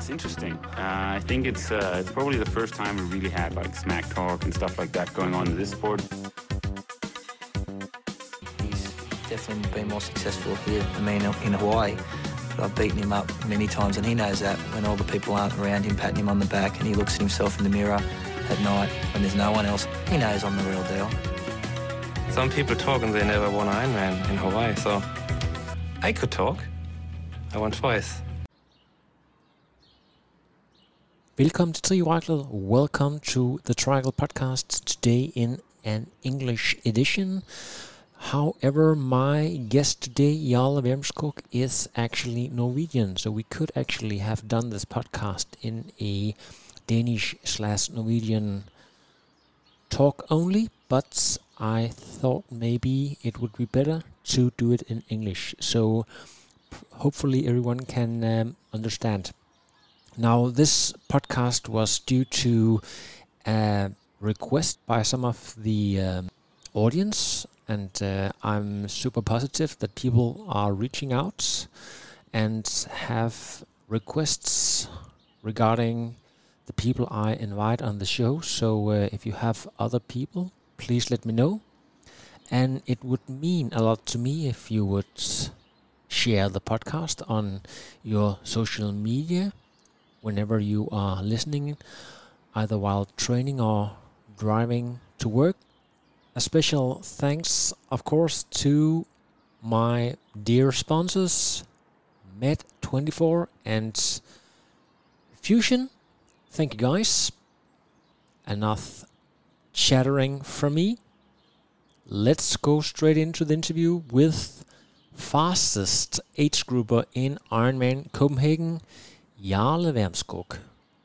It's interesting. I think it's probably the first time we really had like smack talk and stuff like that going on in this sport. He's definitely been more successful here than me in Hawaii. But I've beaten him up many times, and he knows that when all the people aren't around him patting him on the back and he looks at himself in the mirror at night when there's no one else, he knows I'm the real deal. Some people talk and they never won Ironman in Hawaii, so I could talk. I won twice. Velkommen til Trianglet. Welcome to the Triangle podcast, today in an English edition. However, my guest today, Jarle Wermskog, is actually Norwegian, so we could actually have done this podcast in a Danish/Norwegian talk only, but I thought maybe it would be better to do it in English, so hopefully everyone can understand. Now, this podcast was due to a request by some of the audience, and I'm super positive that people are reaching out and have requests regarding the people I invite on the show. So if you have other people, please let me know. And it would mean a lot to me if you would share the podcast on your social media whenever you are listening, either while training or driving to work. A special thanks, of course, to my dear sponsors, Med24 and Fusion. Thank you, guys. Enough chattering from me. Let's go straight into the interview with fastest age grouper in Ironman Copenhagen, Jarle Wermskog.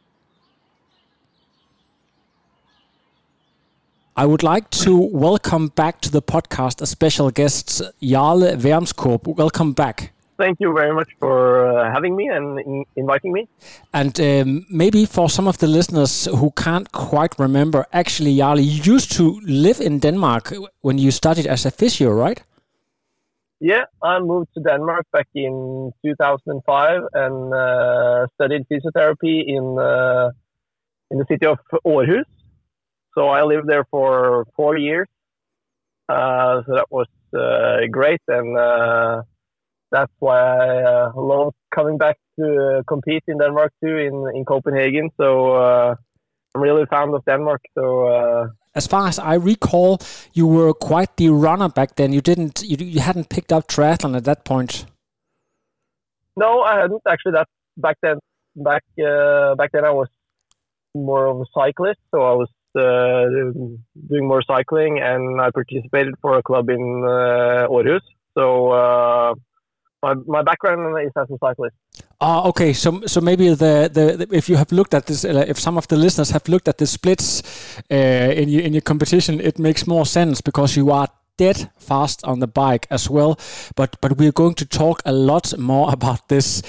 I would like to welcome back to the podcast a special guest, Jarle Wermskog. Welcome back. Thank you very much for having me and inviting me. And maybe for some of the listeners who can't quite remember, actually, Jarle, you used to live in Denmark when you studied as a physio, right? Yeah, I moved to Denmark back in 2005 and studied physiotherapy in the city of Aarhus. So I lived there for 4 years. So that was great, and that's why I love coming back to compete in Denmark too, in Copenhagen. So I'm really fond of Denmark. So. As far as I recall, you were quite the runner back then. You hadn't picked up triathlon at that point. No, I hadn't actually. That back then I was more of a cyclist, so I was doing more cycling, and I participated for a club in Aarhus. So my background is as a cyclist. Okay. So maybe the if you have looked at this, if some of the listeners have looked at the splits in your competition, it makes more sense because you are dead fast on the bike as well. But we're going to talk a lot more about this.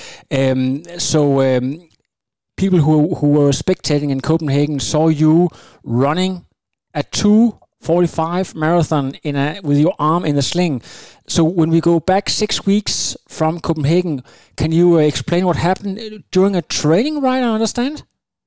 People who were spectating in Copenhagen saw you running a 2:45 marathon with your arm in a sling. So when we go back 6 weeks from Copenhagen, can you explain what happened during a training ride, I understand?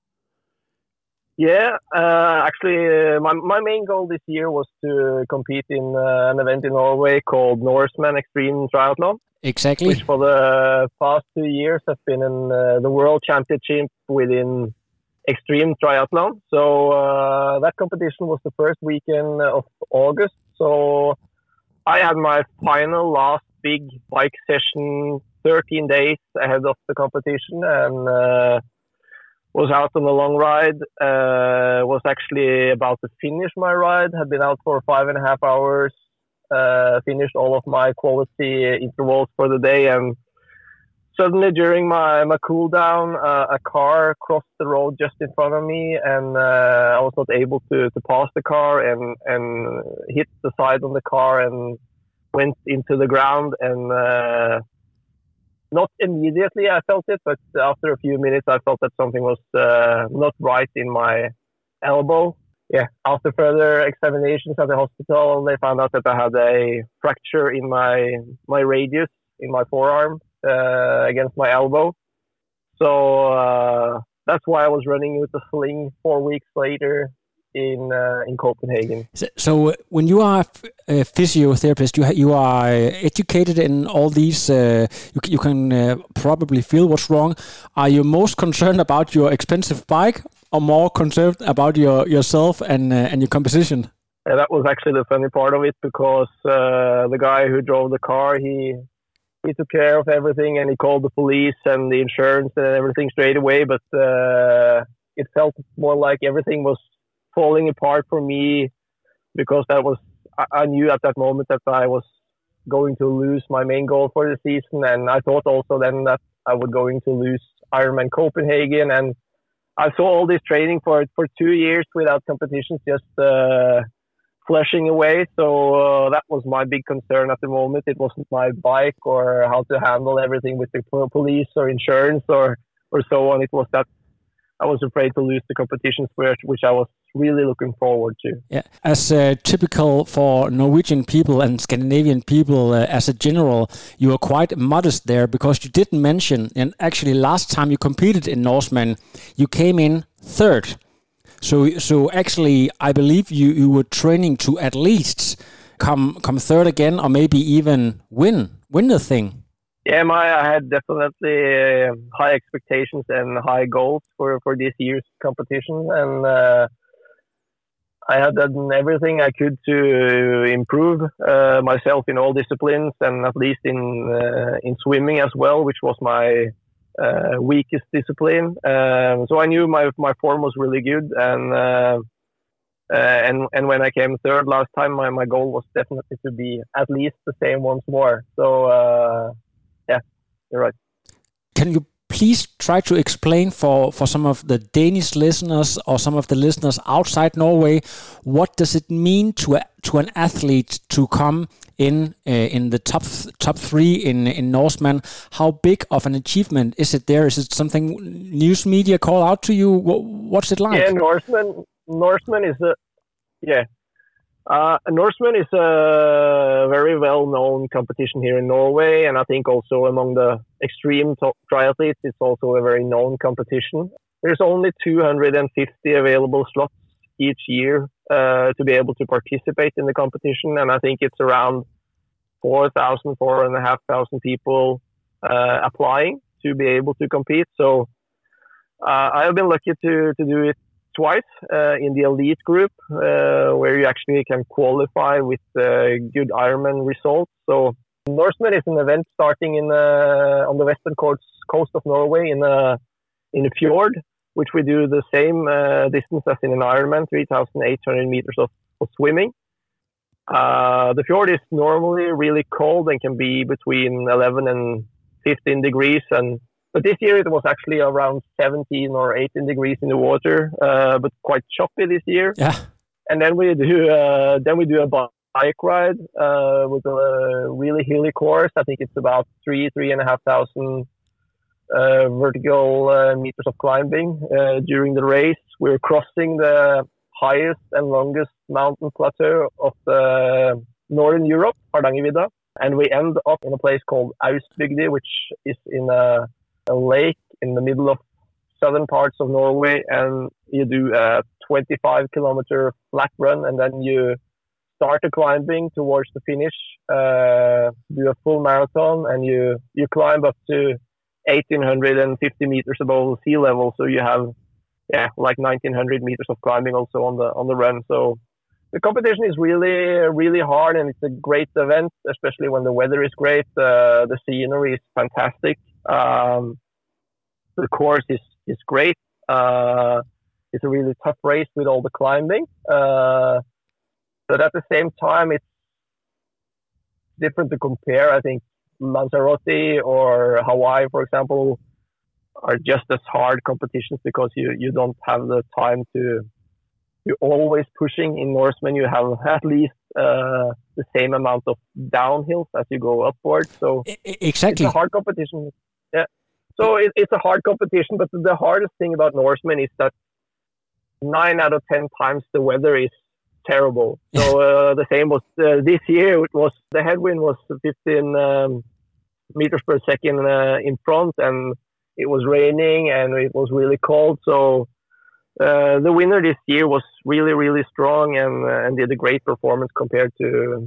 Yeah, actually, my main goal this year was to compete in an event in Norway called Norseman Extreme Triathlon. Exactly. Which for the past 2 years has been in the World Championship within Extreme Triathlon. So that competition was the first weekend of August. So I had my last big bike session 13 days ahead of the competition, and was out on a long ride. Was actually about to finish my ride. Had been out for 5.5 hours. Finished all of my quality intervals for the day, and suddenly during my cool down, a car crossed the road just in front of me, and I was not able to pass the car, and hit the side of the car and went into the ground. And not immediately I felt it, but after a few minutes I felt that something was not right in my elbow. Yeah, after further examinations at the hospital, they found out that I had a fracture in my radius in my forearm against my elbow. So that's why I was running with the sling 4 weeks later in Copenhagen. So when you are a physiotherapist, you are educated in all these. You can probably feel what's wrong. Are you most concerned about your expensive bike, or more concerned about yourself and your composition? Yeah, that was actually the funny part of it, because the guy who drove the car, he took care of everything, and he called the police and the insurance and everything straight away. But it felt more like everything was falling apart for me, because I knew at that moment that I was going to lose my main goal for the season, and I thought also then that I was going to lose Ironman Copenhagen. And I saw all this training for 2 years without competitions just flushing away. So that was my big concern at the moment. It wasn't my bike or how to handle everything with the police or insurance or so on. It was that I was afraid to lose the competitions, which I was really looking forward to. Yeah, as typical for Norwegian people and Scandinavian people as a general, you are quite modest there, because you didn't mention, and actually last time you competed in Norseman, you came in third. So actually, I believe you were training to at least come third again, or maybe even win the thing. Yeah, I had definitely high expectations and high goals for this year's competition, and I had done everything I could to improve myself in all disciplines, and at least in swimming as well, which was my weakest discipline. So I knew my form was really good, and when I came third last time, my goal was definitely to be at least the same once more. So yeah, you're right. Can you please try to explain for some of the Danish listeners or some of the listeners outside Norway, what does it mean to an athlete to come in the top three in Norseman? How big of an achievement is it there? Is it something news media call out to you? What's it like? Yeah, Norseman is Norseman is a very well-known competition here in Norway, and I think also among the extreme triathletes, it's also a very known competition. There's only 250 available slots each year to be able to participate in the competition, and I think it's around 4,500 people applying to be able to compete. So I have been lucky to do it twice in the elite group, where you actually can qualify with good Ironman results. So Norseman is an event starting on the western coast of Norway in a fjord, which we do the same distance as in an Ironman, 3,800 meters of swimming. The fjord is normally really cold and can be between 11 and 15 degrees, but this year it was actually around 17 or 18 degrees in the water, but quite choppy this year. Yeah. And then we do a bike ride with a really hilly course. I think it's about 3,500 vertical meters of climbing during the race. We're crossing the highest and longest mountain plateau of the northern Europe, Hardangervidda, and we end up in a place called Austbygdi, which is in a lake in the middle of southern parts of Norway, and you do a 25-kilometer flat run, and then you start the climbing towards the finish, do a full marathon, and you climb up to 1,850 meters above sea level. So you have like 1,900 meters of climbing also on the run. So the competition is really hard, and it's a great event, especially when the weather is great. The scenery is fantastic. The course is great. It's a really tough race with all the climbing. But at the same time, it's different to compare. I think Lanzarote or Hawaii, for example, are just as hard competitions because you don't have the time to. You're always pushing. In Norseman, you have at least the same amount of downhills as you go upwards. So exactly, it's a hard competition. Yeah. So it's a hard competition, but the hardest thing about Norseman is that 9 out of 10 times the weather is terrible. So the same was this year. It was the headwind was 15 meters per second in front, and it was raining and it was really cold. So the winner this year was really, really strong and did a great performance compared to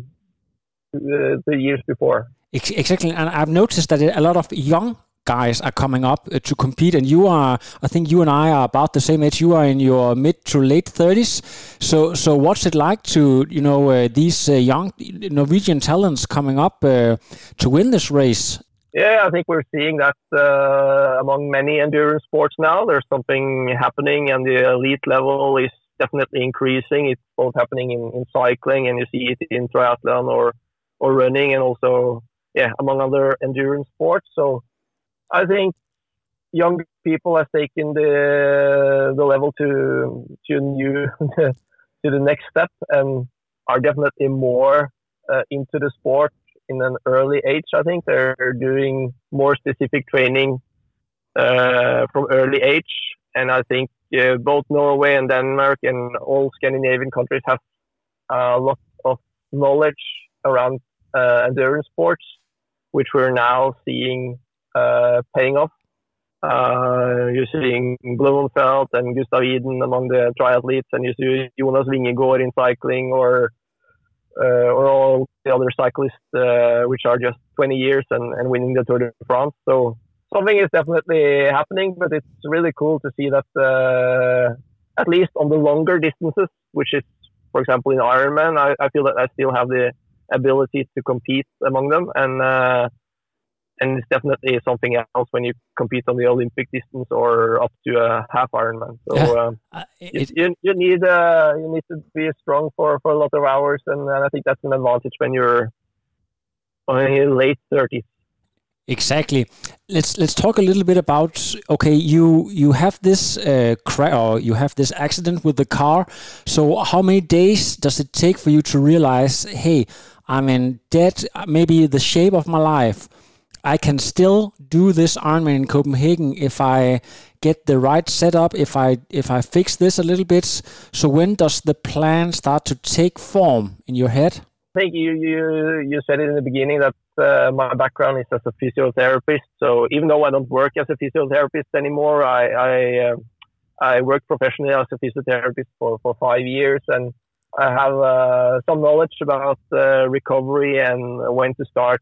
the years before. Exactly, and I've noticed that a lot of young guys are coming up to compete, and I think you and I are about the same age. You are in your mid to late 30s. So what's it like to, these young Norwegian talents coming up to win this race? Yeah, I think we're seeing that among many endurance sports now. There's something happening, and the elite level is definitely increasing. It's both happening in cycling, and you see it in triathlon or running, and also among other endurance sports. So I think young people have taken the level to the next step, and are definitely more into the sport in an early age. I think they're doing more specific training from early age, and I think both Norway and Denmark and all Scandinavian countries have a lot of knowledge around endurance sports, which we're now seeing paying off. You're seeing Blumenfeld and Gustav Iden among the triathletes, and you see Jonas Vingegaard in cycling, or all the other cyclists which are just 20 years and winning the Tour de France. So something is definitely happening, but it's really cool to see that at least on the longer distances, which is, for example, in Ironman, I feel that I still have the ability to compete among them, and it's definitely something else when you compete on the Olympic distance or up to a half Ironman. So you need to be strong for a lot of hours, and I think that's an advantage when you're in your late 30s. Exactly. Let's talk a little bit about, okay, you have this or you have this accident with the car. So how many days does it take for you to realize, hey, I'm in debt, maybe the shape of my life, I can still do this Ironman in Copenhagen if I get the right setup, if I fix this a little bit. So when does the plan start to take form in your head? I think you said it in the beginning that my background is as a physiotherapist. So even though I don't work as a physiotherapist anymore, I worked professionally as a physiotherapist for 5 years, and I have some knowledge about recovery and when to start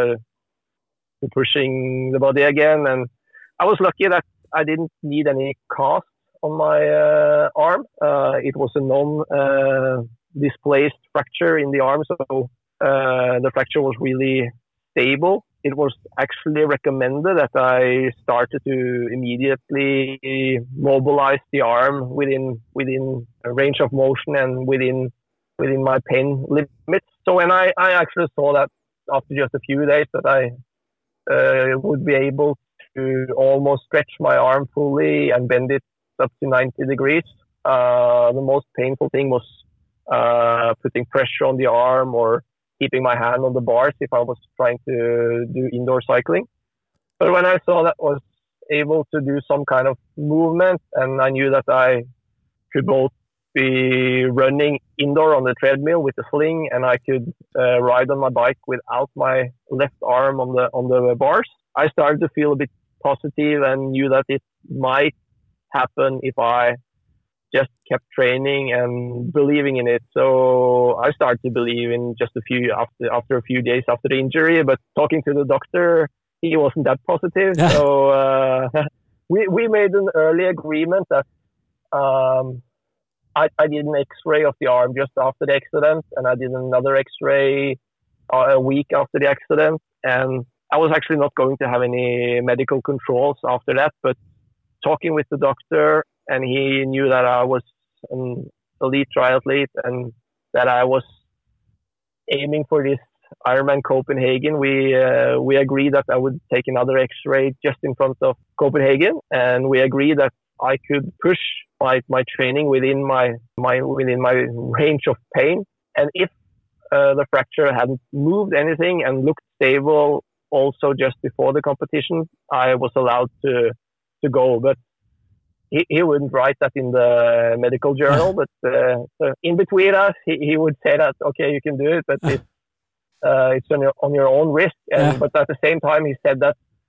pushing the body again. And I was lucky that I didn't need any cast on my arm. It was a non-displaced fracture in the arm, so the fracture was really stable. It was actually recommended that I started to immediately mobilize the arm within a range of motion and within my pain limits. So when I actually saw that after just a few days that I would be able to almost stretch my arm fully and bend it up to 90 degrees. The most painful thing was putting pressure on the arm or keeping my hand on the bars if I was trying to do indoor cycling. But when I saw that I was able to do some kind of movement, and I knew that I could both be running indoor on the treadmill with the sling, and I could ride on my bike without my left arm on the bars, I started to feel a bit positive and knew that it might happen if I just kept training and believing in it. So I started to believe in just after a few days after the injury. But talking to the doctor, he wasn't that positive. So we made an early agreement that I did an X-ray of the arm just after the accident, and I did another X-ray a week after the accident. And I was actually not going to have any medical controls after that, but talking with the doctor, and he knew that I was an elite triathlete and that I was aiming for this Ironman Copenhagen. We agreed that I would take another X-ray just in front of Copenhagen, and we agreed that I could push my training within my range of pain. And if the fracture hadn't moved anything and looked stable also just before the competition, I was allowed to go. But he wouldn't write that in the medical journal, but in between us, he would say that, okay, you can do it, but it's on your own risk. But at the same time, he said that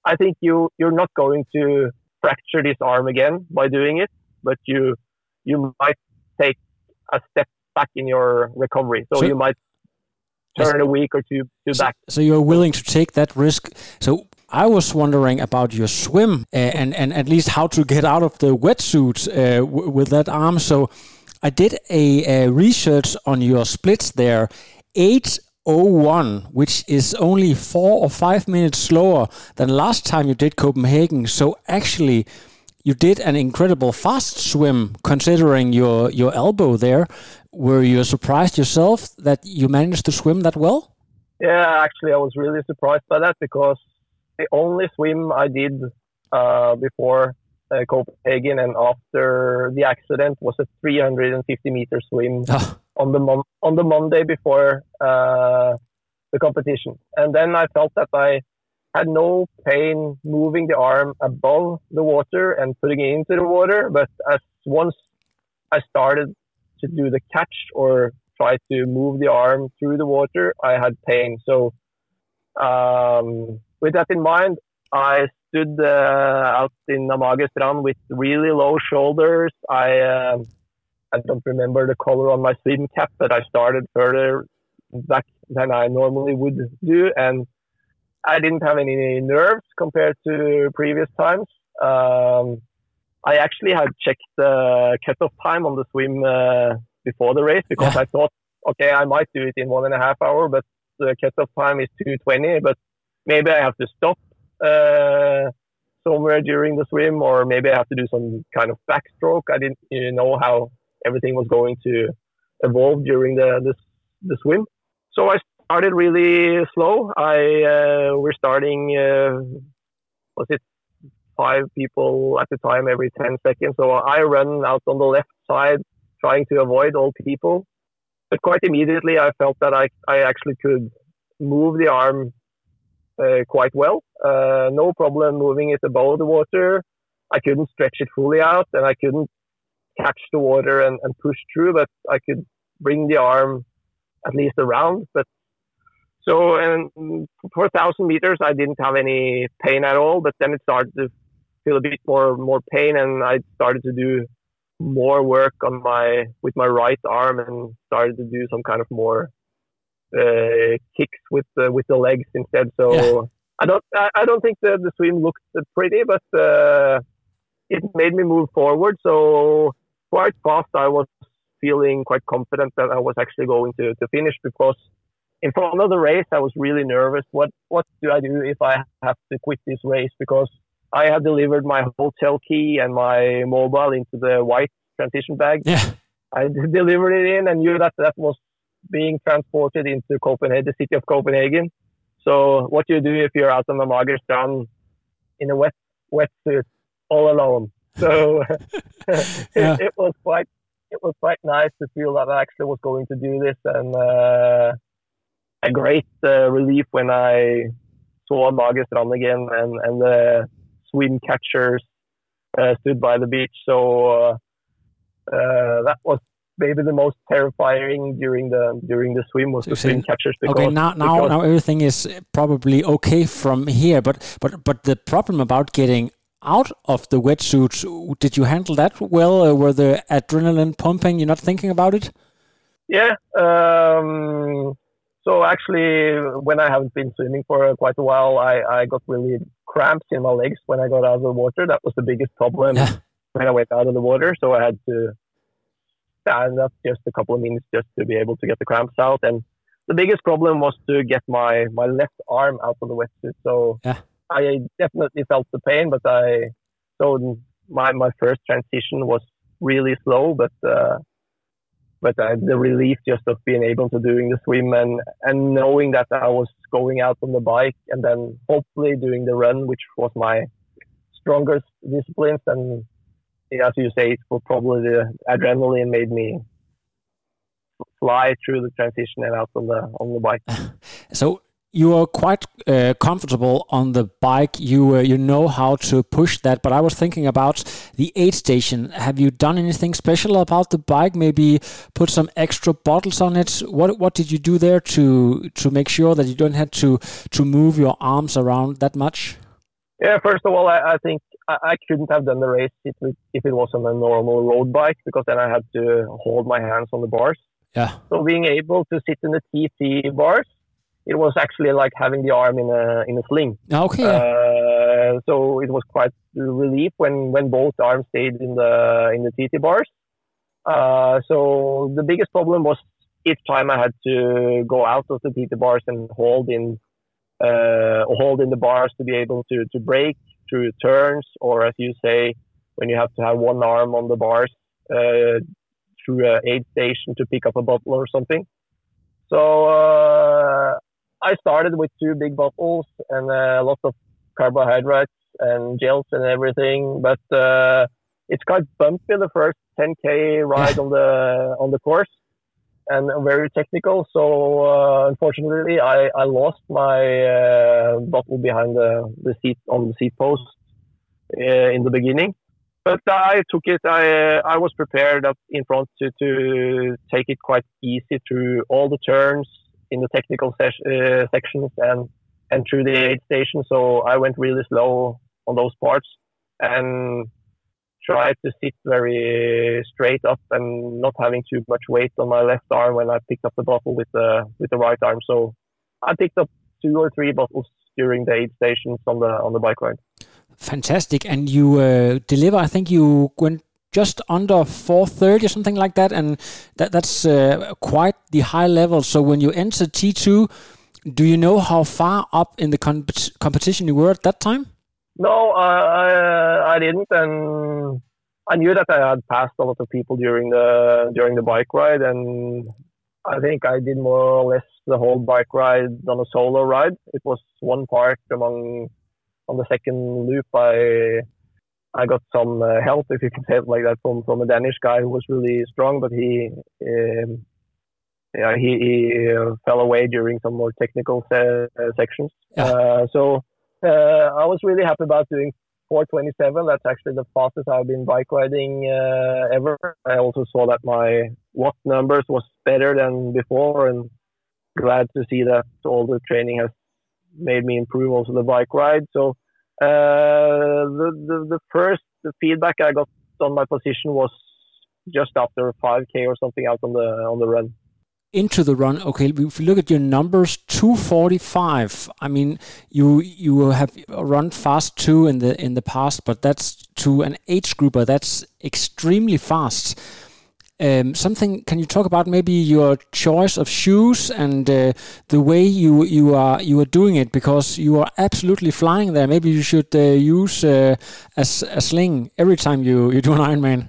I think you're not going to fracture this arm again by doing it, but you might take a step back in your recovery. So you might turn a week or two back. So you're willing to take that risk. So I was wondering about your swim and at least how to get out of the wetsuit with that arm. So I did a research on your splits there. 8:01, which is only 4 or 5 minutes slower than last time you did Copenhagen. So actually, you did an incredible fast swim considering your elbow there. Were you surprised yourself that you managed to swim that well? Yeah, actually, I was really surprised by that because the only swim I did before Copenhagen and after the accident was a 350-meter swim on the Monday before the competition. And then I felt that I had no pain moving the arm above the water and putting it into the water. But once I started to do the catch or try to move the arm through the water, I had pain. So with that in mind, I stood out in Amager Strand with really low shoulders. I don't remember the color on my swim cap, but I started further back than I normally would do. And I didn't have any nerves compared to previous times. I actually had checked the cutoff time on the swim before the race because I thought, okay, I might do it in 1.5 hours, but the cutoff time is 2:20. But maybe I have to stop somewhere during the swim, or maybe I have to do some kind of backstroke. I didn't know how everything was going to evolve during the swim. So I started really slow. We're starting, was it 5 people at a time every 10 seconds. So I run out on the left side trying to avoid all people. But quite immediately I felt that I actually could move the arm quite well. No problem moving it above the water. I couldn't stretch it fully out and I couldn't catch the water and push through, but I could bring the arm at least around. But so, and for 1,000 meters, I didn't have any pain at all, but then it started to feel a bit more pain, and I started to do more work with my right arm and started to do some kind of more kicks with the legs instead. So I don't think the swim looked pretty, but it made me move forward. So quite fast, I was feeling quite confident that I was actually going to finish because in front of the race, I was really nervous. What do I do if I have to quit this race? Because I had delivered my hotel key and my mobile into the white transition bag. Yeah. I delivered it in and knew that was being transported into Copenhagen, the city of Copenhagen. So what do you do if you're out on the Amager Strand in a wetsuit all alone? So it was quite nice to feel that I actually was going to do this, and a great relief when I saw Amager Strand again and the swim catchers stood by the beach. So that was maybe the most terrifying during the swim was the swim catchers. Because, now everything is probably okay from here, but the problem about getting out of the wetsuit, did you handle that well? Were the adrenaline pumping? You're not thinking about it? Yeah. So actually, when I haven't been swimming for quite a while, I got really cramps in my legs when I got out of the water. That was the biggest problem when I went out of the water. So I had to stand up just a couple of minutes just to be able to get the cramps out. And the biggest problem was to get my left arm out of the wetsuit. So I definitely felt the pain, but my first transition was really slow, but the relief just of being able to doing the swim and knowing that I was going out on the bike and then hopefully doing the run, which was my strongest disciplines. And as you say, it was probably the adrenaline made me fly through the transition and out on the bike. So you are quite comfortable on the bike. You know how to push that. But I was thinking about the aid station. Have you done anything special about the bike? Maybe put some extra bottles on it? What did you do there to make sure that you don't have to move your arms around that much? Yeah, first of all, I think I couldn't have done the race if it was on a normal road bike, because then I had to hold my hands on the bars. Yeah. So being able to sit in the TT bars, it was actually like having the arm in a sling. Okay. Yeah. So it was quite a relief when both arms stayed in the TT bars. So the biggest problem was each time I had to go out of the TT bars and hold in the bars to be able to brake through turns, or as you say, when you have to have one arm on the bars through an aid station to pick up a bottle or something. So I started with 2 big bottles and lots of carbohydrates and gels and everything, but it's quite bumpy the first 10K ride on the course, and very technical. So unfortunately, I lost my bottle behind the seat on the seat post in the beginning. But I took it. I was prepared up in front to take it quite easy through all the turns in the technical sections and through the aid station. So I went really slow on those parts and tried to sit very straight up and not having too much weight on my left arm when I picked up the bottle with the right arm. So I picked up 2 or 3 bottles during the aid stations on the bike ride. Fantastic. And you deliver, I think you went just under 4:30 or something like that, and that's quite the high level. So when you enter T2, do you know how far up in the competition you were at that time? No, I didn't, and I knew that I had passed a lot of people during the bike ride, and I think I did more or less the whole bike ride on a solo ride. It was one part on the second loop. I got some help, if you can say it like that, from a Danish guy who was really strong, but he fell away during some more technical sections. Yeah. So I was really happy about doing 4:27. That's actually the fastest I've been bike riding ever. I also saw that my watt numbers was better than before, and glad to see that all the training has made me improve also the bike ride. So the first feedback I got on my position was just after 5K or something out on the run. Into the run, okay. If you look at your numbers, 2:45. I mean, you have run fast too in the past, but that's to an age grouper. That's extremely fast. Can you talk about maybe your choice of shoes and the way you are doing it, because you are absolutely flying there? Maybe you should use a sling every time you do an Ironman.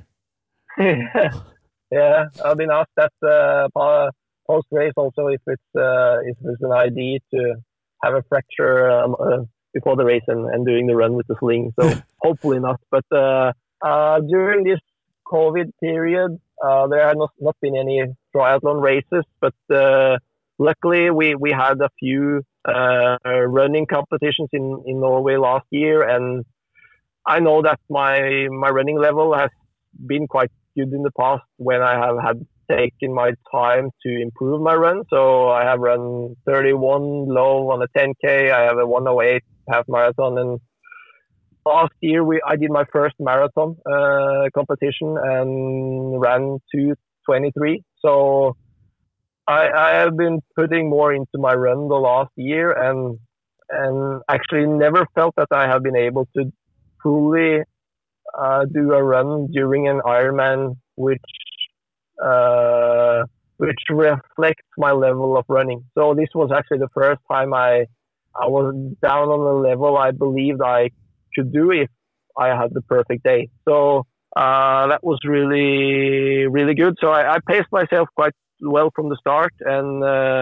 Yeah, I've been asked that post race also if it's an idea to have a fracture before the race and doing the run with the sling. So hopefully not. But during this COVID period, there have not been any triathlon races, but luckily we had a few running competitions in Norway last year, and I know that my running level has been quite good in the past when I have had taken my time to improve my run. So I have run 31 low on a 10K. I have a 108 half marathon, and last year I did my first marathon competition and ran 2:23. So I have been putting more into my run the last year, and actually never felt that I have been able to fully do a run during an Ironman which reflects my level of running. So this was actually the first time I was down on the level I believed I could do if I had the perfect day. So that was really, really good. So I paced myself quite well from the start and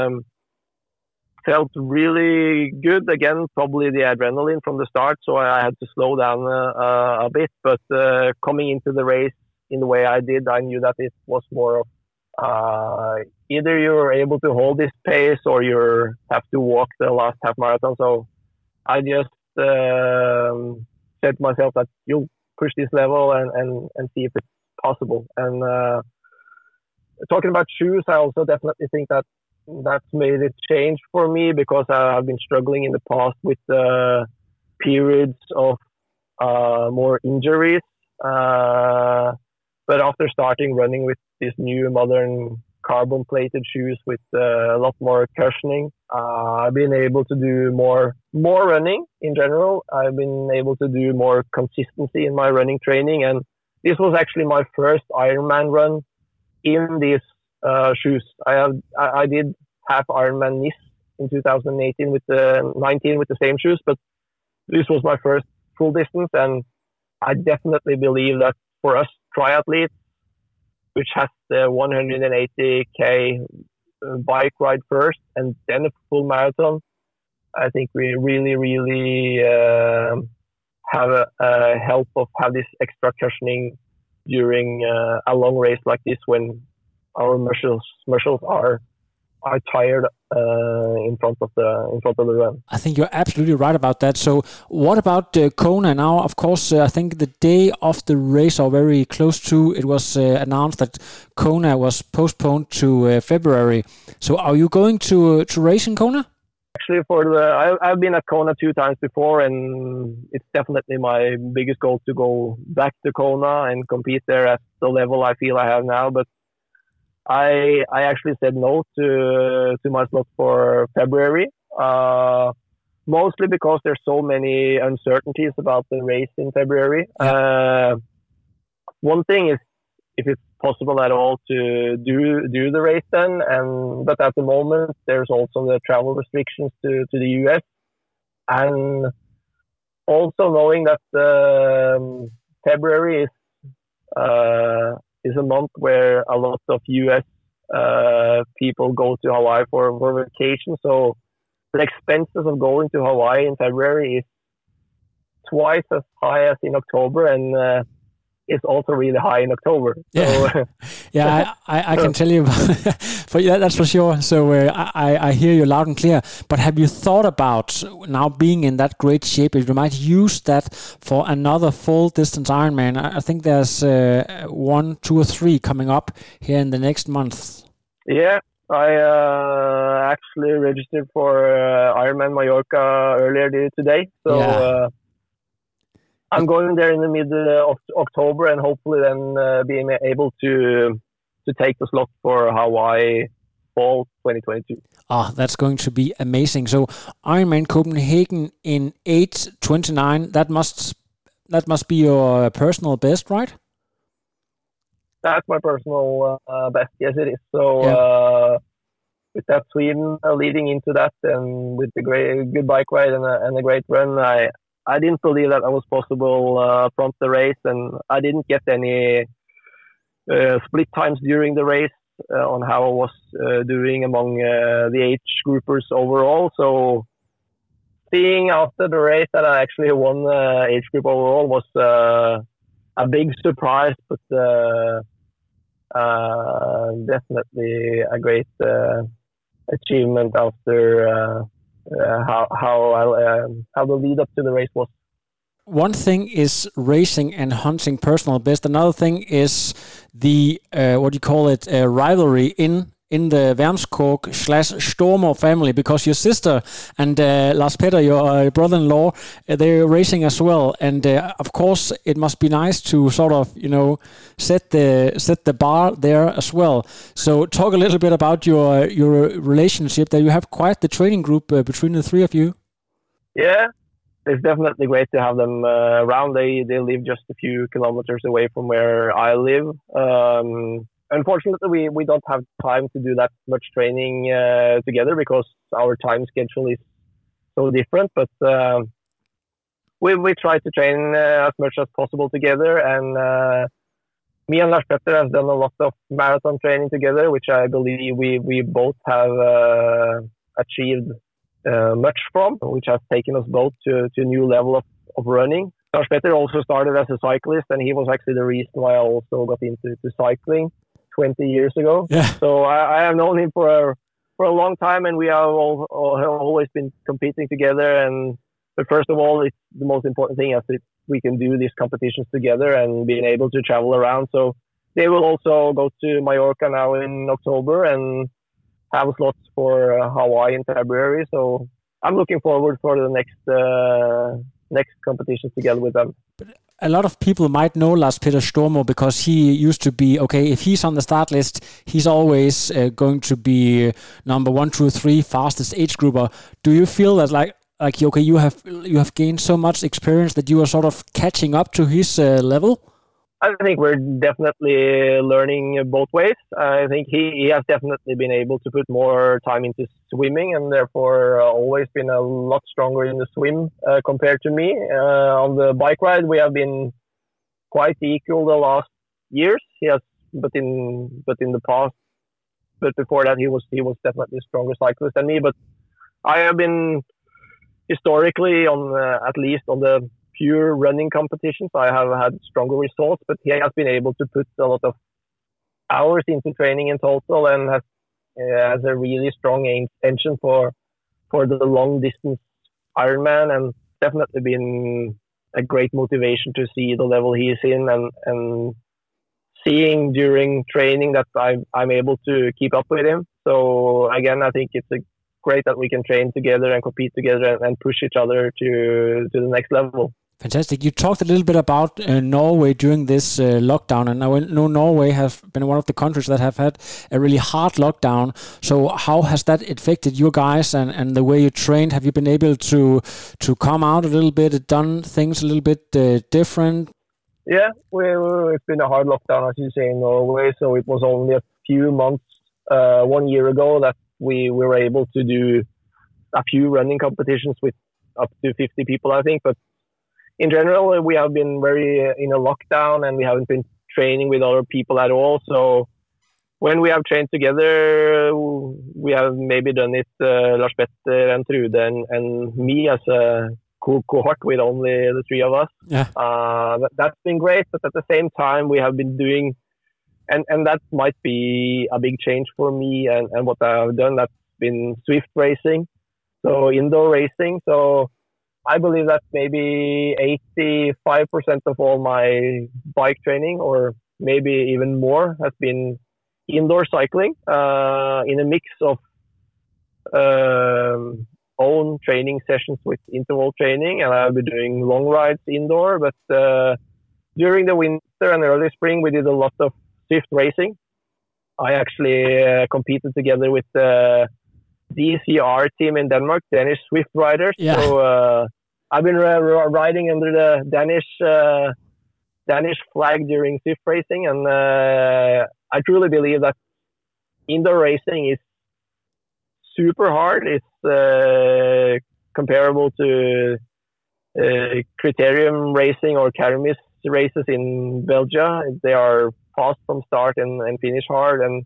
felt really good. Again, probably the adrenaline from the start, so I had to slow down a bit. But coming into the race in the way I did, I knew that it was more of either you're able to hold this pace or you have to walk the last half marathon. So I just said to myself that you'll push this level and see if it's possible. And talking about shoes, I also definitely think that that's made a change for me, because I've been struggling in the past with periods of more injuries. But after starting running with these new modern carbon-plated shoes with a lot more cushioning, I've been able to do more running in general. I've been able to do more consistency in my running training, and this was actually my first Ironman run in these shoes. I did half Ironman Nice in 2018 with the 19 with the same shoes, but this was my first full distance, and I definitely believe that for us triathletes, which has the 180k bike ride first and then a full marathon, I think we really have a help of have this extra cushioning during a long race like this when our muscles are tired in front of the run. I think you're absolutely right about that. So what about Kona now? Of course, I think the day of the race, or very close to, it was announced that Kona was postponed to February. So are you going to race in Kona? Actually, I've been at Kona 2 times before, and it's definitely my biggest goal to go back to Kona and compete there at the level I feel I have now. But I actually said no to my slot for February, mostly because there's so many uncertainties about the race in February. One thing is if it's possible at all to do the race then, but at the moment there's also the travel restrictions to the US, and also knowing that February is a month where a lot of US people go to Hawaii for vacation. So the expenses of going to Hawaii in February is twice as high as in October, and it's also really high in October. Yeah, So, yeah, I can tell you, for yeah, that's for sure. So I hear you loud and clear. But have you thought about now being in that great shape, if you might use that for another full distance Ironman? I think there's 1, 2, or 3 coming up here in the next month. Yeah, I actually registered for Ironman Mallorca earlier today. So. Yeah. I'm going there in the middle of October, and hopefully then being able to take the slot for Hawaii fall 2022. That's going to be amazing. So Ironman Copenhagen in 8:29. That must be your personal best, right? That's my personal best. Yes, it is. So with that Sweden leading into that, and with the good bike ride and a great run, I didn't believe that was possible from the race, and I didn't get any split times during the race on how I was doing among the age groupers overall. So seeing after the race that I actually won age group overall was a big surprise, but definitely a great achievement after how the lead up to the race was. One thing is racing and hunting personal best. Another thing is the rivalry in the Wermskog/Stormer family, because your sister and Lars Petter, your brother-in-law, they're racing as well, and of course it must be nice to sort of set the bar there as well. So talk a little bit about your relationship. That you have quite the training group between the three of you. Yeah, it's definitely great to have them around. They live just a few kilometers away from where I live. Unfortunately, we don't have time to do that much training together because our time schedule is so different. But we try to train as much as possible together. And me and Lars Petter have done a lot of marathon training together, which I believe we both have achieved much from, which has taken us both to a new level of running. Lars Petter also started as a cyclist, and he was actually the reason why I also got into cycling 20 years ago. Yeah. So I have known him for a long time, and we have always been competing together. But first of all, it's the most important thing is that we can do these competitions together and being able to travel around. So they will also go to Mallorca now in October and have slots for Hawaii in February. So I'm looking forward for the next next competitions together with them. A lot of people might know Lars Petter Stormo because he used to be, okay, if he's on the start list, he's always going to be number 1, 2, 3 fastest age grouper. Do you feel that like okay, you have gained so much experience that you are sort of catching up to his level? I think we're definitely learning both ways. I think he has definitely been able to put more time into swimming and therefore always been a lot stronger in the swim compared to me. On the bike ride, we have been quite equal the last years. He has, but in the past, but before that, he was definitely a stronger cyclist than me. But I have been historically at least on the pure running competitions, I have had stronger results, but he has been able to put a lot of hours into training in total and has a really strong engine for the long distance Ironman, and definitely been a great motivation to see the level he is in and seeing during training that I'm able to keep up with him. So again, I think it's great that we can train together and compete together and push each other to the next level. Fantastic. You talked a little bit about Norway during this lockdown, and I know Norway has been one of the countries that have had a really hard lockdown. So how has that affected you guys and the way you trained? Have you been able to come out a little bit, done things a little bit different? Yeah, it's been a hard lockdown, as you say, in Norway. So it was only a few months, 1 year ago, that we were able to do a few running competitions with up to 50 people, I think. But in general, we have been very in a lockdown and we haven't been training with other people at all. So when we have trained together, we have maybe done it, Lars Petter and Trude and me as a cohort with only the three of us. Yeah. That's been great. But at the same time, we have been doing, and that might be a big change for me and what I have done, that's been Swift racing. So indoor racing. So I believe that maybe 85% of all my bike training, or maybe even more, has been indoor cycling in a mix of own training sessions with interval training, and I'll be doing long rides indoor. But during the winter and early spring, we did a lot of Swift racing. I actually competed together with the DCR team in Denmark, Danish Swift riders. Yeah. So I've been riding under the Danish flag during Swift racing, and I truly believe that indoor racing is super hard. It's comparable to criterium racing or Karamis races in Belgium. They are fast from start and finish hard, and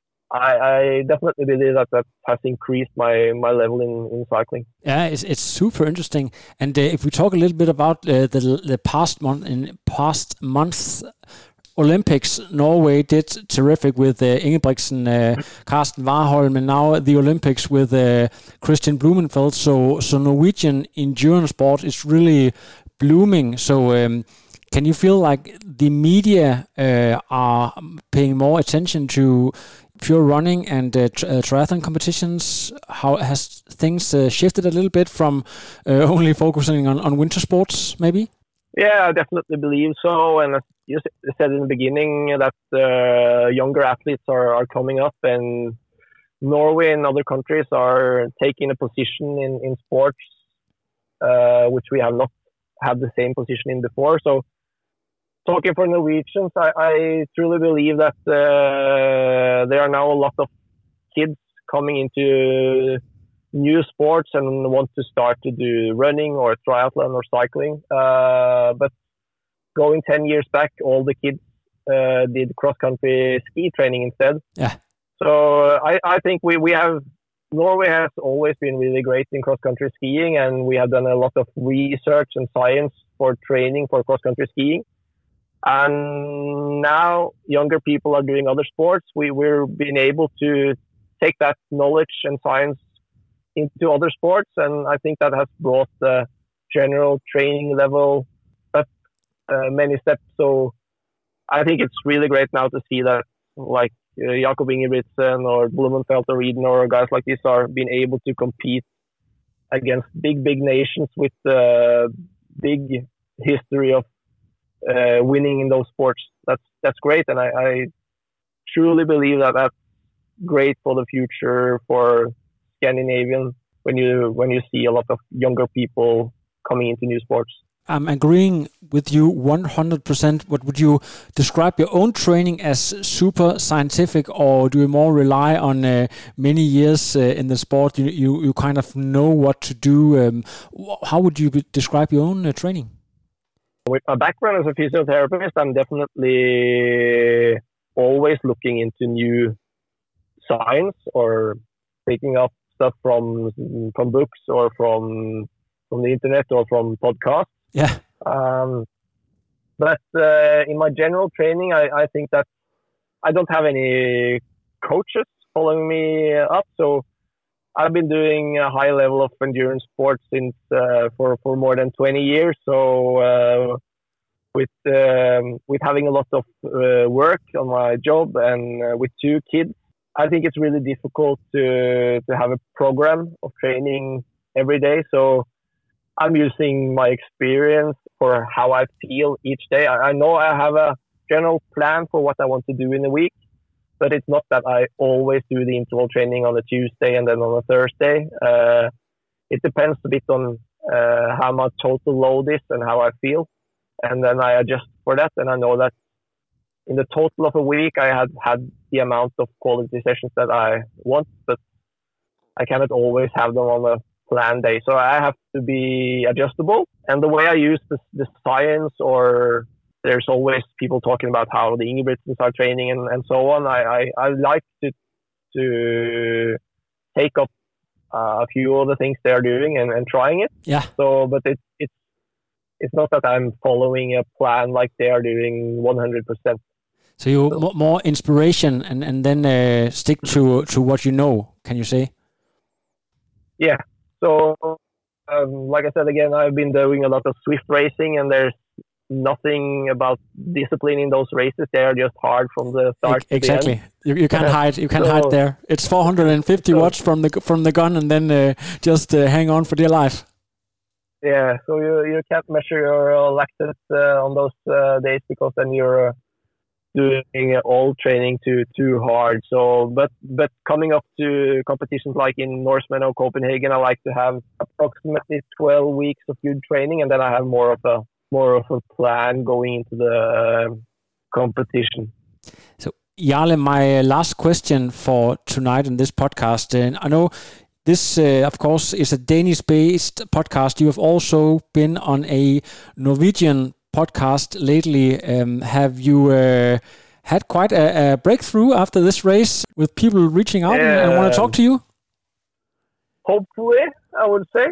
I definitely believe that has increased my level in cycling. Yeah, it's super interesting. And if we talk a little bit about the past month's Olympics, Norway did terrific with Ingebrigtsen, Karsten Warholm, and now the Olympics with Christian Blumenfeld. So Norwegian endurance sport is really blooming. So can you feel like the media are paying more attention to pure running and triathlon competitions? How has things shifted a little bit from only focusing on winter sports, maybe? Yeah, I definitely believe so. And as you said in the beginning, that younger athletes are coming up, and Norway and other countries are taking a position in sports which we have not had the same position in before. So talking for Norwegians, I truly believe that there are now a lot of kids coming into new sports and want to start to do running or triathlon or cycling. But going 10 years back, all the kids did cross-country ski training instead. Yeah. So I think we have, Norway has always been really great in cross-country skiing, and we have done a lot of research and science for training for cross-country skiing. And now younger people are doing other sports. We're being able to take that knowledge and science into other sports, and I think that has brought the general training level up many steps. So I think it's really great now to see that, like Jakob Ingebrigtsen or Blumenfeld or Eden or guys like this are being able to compete against big nations with big history of winning in those sports. That's great, and I truly believe that that's great for the future for Scandinavian when you see a lot of younger people coming into new sports. I'm agreeing with you 100%. What would you describe your own training as super scientific, or do you more rely on many years in the sport? You kind of know what to do. How would you describe your own training? With my background as a physiotherapist, I'm definitely always looking into new science or picking up stuff from books or from the internet or from podcasts. Yeah. But in my general training, I think that I don't have any coaches following me up. So I've been doing a high level of endurance sports since for more than 20 years. So with having a lot of work on my job and with 2 kids, I think it's really difficult to have a program of training every day. So I'm using my experience for how I feel each day. I know I have a general plan for what I want to do in a week, but it's not that I always do the interval training on a Tuesday and then on a Thursday. It depends a bit on how my total load is and how I feel. And then I adjust for that. And I know that in the total of a week, I had the amount of quality sessions that I want, but I cannot always have them on a planned day. So I have to be adjustable. And the way I use the science, or there's always people talking about how the Ingebrigtsens are training and so on. I like to take up a few of the things they're doing and trying it. Yeah. So, but it's not that I'm following a plan like they are doing 100%. So you more inspiration and then stick to what you know, can you say? Yeah. So, like I said, again, I've been doing a lot of Swift racing, and there's nothing about discipline in those races. They are just hard from the start. Exactly. To the end. You can't hide. You can't hide there. It's 450 watts from the gun, and then just hang on for dear life. Yeah. So you can't measure your lactate on those days, because then you're doing all training too hard. So, but coming up to competitions like in Norseman or Copenhagen, I like to have approximately 12 weeks of good training, and then I have more of a plan going into the competition. So, Jarle, my last question for tonight in this podcast, and I know this, of course, is a Danish-based podcast. You have also been on a Norwegian podcast lately. Have you had quite a breakthrough after this race with people reaching out and want to talk to you? Hopefully, I would say.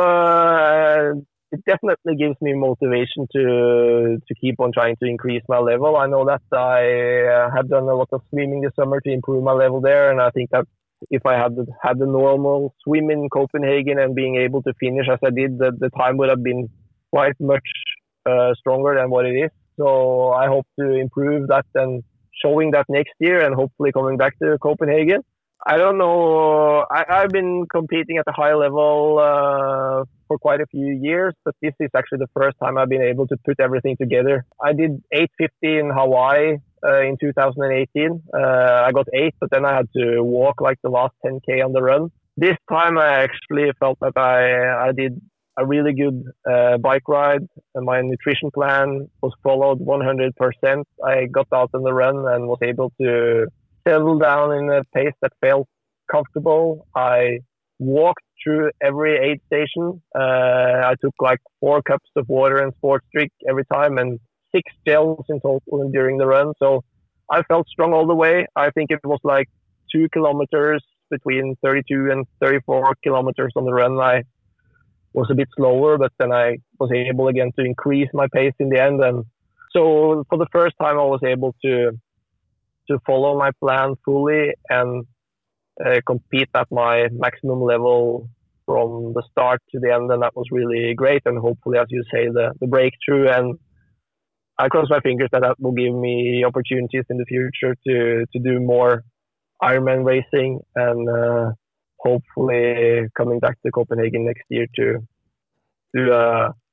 So it definitely gives me motivation to keep on trying to increase my level. I know that I have done a lot of swimming this summer to improve my level there, and I think that if I had the normal swim in Copenhagen and being able to finish as I did, the time would have been quite much stronger than what it is. So I hope to improve that and showing that next year, and hopefully coming back to Copenhagen. I don't know. I've been competing at a high level for quite a few years, but this is actually the first time I've been able to put everything together. I did 850 in Hawaii in 2018. I got 8, but then I had to walk like the last 10K on the run. This time I actually felt that I did a really good bike ride, and my nutrition plan was followed 100%. I got out on the run and was able to settle down in a pace that felt comfortable. I walked through every aid station. I took like 4 cups of water and sports drink every time, and 6 gels in total during the run. So I felt strong all the way. I think it was like 2 kilometers between 32 and 34 kilometers on the run. I was a bit slower, but then I was able again to increase my pace in the end. And so for the first time, I was able to follow my plan fully and compete at my maximum level from the start to the end. And that was really great. And hopefully, as you say, the breakthrough. And I cross my fingers that will give me opportunities in the future to do more Ironman racing, and hopefully coming back to Copenhagen next year to do a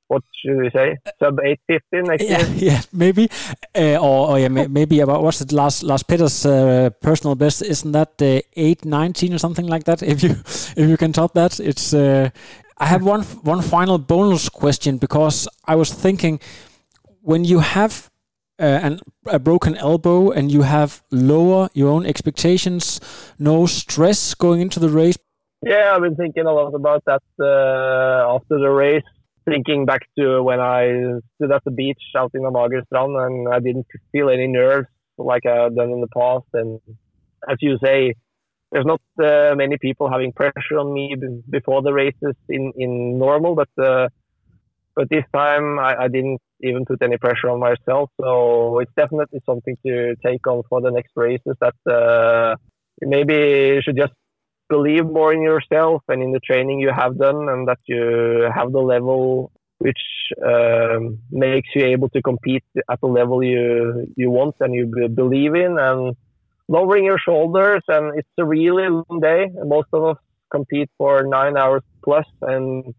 what should we say? Sub 8:15 next year. Yeah, maybe. Maybe about what's it? Lars Petter's personal best, isn't that 8:19 or something like that? If you can top that, it's. I have one final bonus question, because I was thinking, when you have a broken elbow and you have lower your own expectations, no stress going into the race. Yeah, I've been thinking a lot about that after the race. Thinking back to when I stood at the beach out in Amagerstrand and I didn't feel any nerves like I've done in the past. And as you say, there's not many people having pressure on me before the races in normal, but this time I didn't even put any pressure on myself. So it's definitely something to take on for the next races, that maybe you should just believe more in yourself and in the training you have done, and that you have the level which makes you able to compete at the level you want and you believe in, and lowering your shoulders. And it's a really long day. Most of us compete for 9 hours plus, and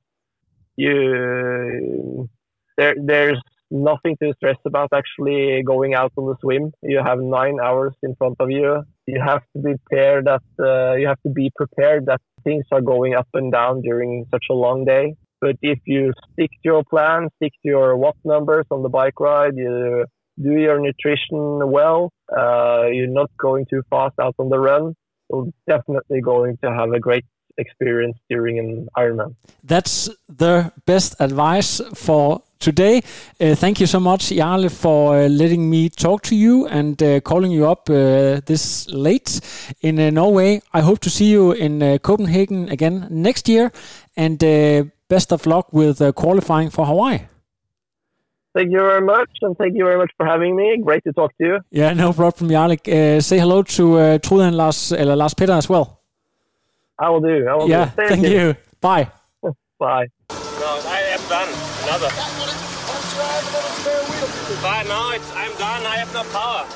there's nothing to stress about actually going out on the swim. You have 9 hours in front of you. You have to be prepared that things are going up and down during such a long day. But if you stick to your plan, stick to your watt numbers on the bike ride, you do your nutrition well, you're not going too fast out on the run, you're definitely going to have a great experience during an Ironman. That's the best advice for today. Thank you so much, Jarle, for letting me talk to you and calling you up this late in Norway. I hope to see you in Copenhagen again next year, and best of luck with qualifying for Hawaii. Thank you very much, and thank you very much for having me. Great to talk to you. Yeah, no problem, Jarle. Say hello to Trude and Lars Petter as well. I will do. Thank you. Bye. Bye. No, I am done. Another. But now I'm done. I have no power.